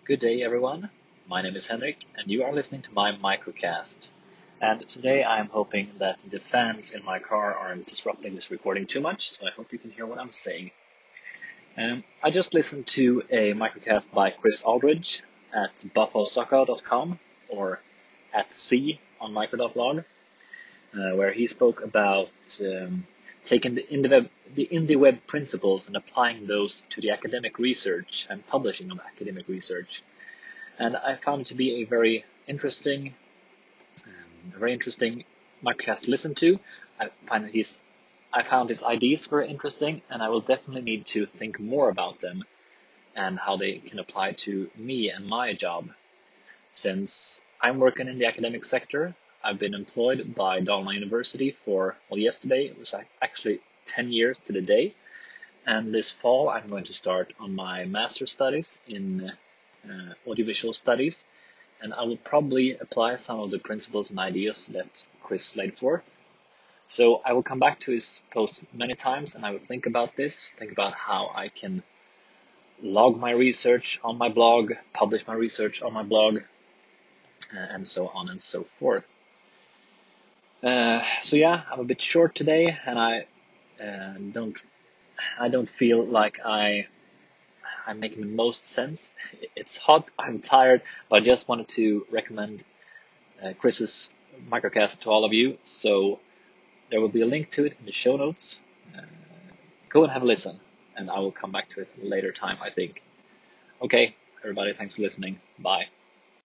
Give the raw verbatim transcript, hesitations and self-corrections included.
Good day, everyone. My name is Henrik, and you are listening to my microcast. And today I'm hoping that the fans in my car aren't disrupting this recording too much, so I hope you can hear what I'm saying. Um, I just listened to a microcast by Chris Aldridge at buffalo soccer dot com or at C on micro dot blog, uh, where he spoke about um, taking the IndieWeb, the IndieWeb principles and applying those to the academic research and publishing of academic research. And I found it to be a very interesting, um, a very interesting microcast to listen to. I find that he's, I found his ideas very interesting, and I will definitely need to think more about them and how they can apply to me and my job. Since I'm working in the academic sector, I've been employed by Dalarna University for, well, yesterday it was actually ten years to the day. And this fall I'm going to start on my master's studies in uh, audiovisual studies, and I will probably apply some of the principles and ideas that Chris laid forth. So I will come back to his post many times, and I will think about this, think about how I can log my research on my blog, publish my research on my blog, uh, and so on and so forth. Uh, so yeah, I'm a bit short today, and I uh, don't, I don't feel like I I'm making the most sense. It's hot, I'm tired, but I just wanted to recommend uh, Chris's microcast to all of you. So there will be a link to it in the show notes. Uh, go and have a listen, and I will come back to it at a later time, I think. Okay, everybody, thanks for listening. Bye.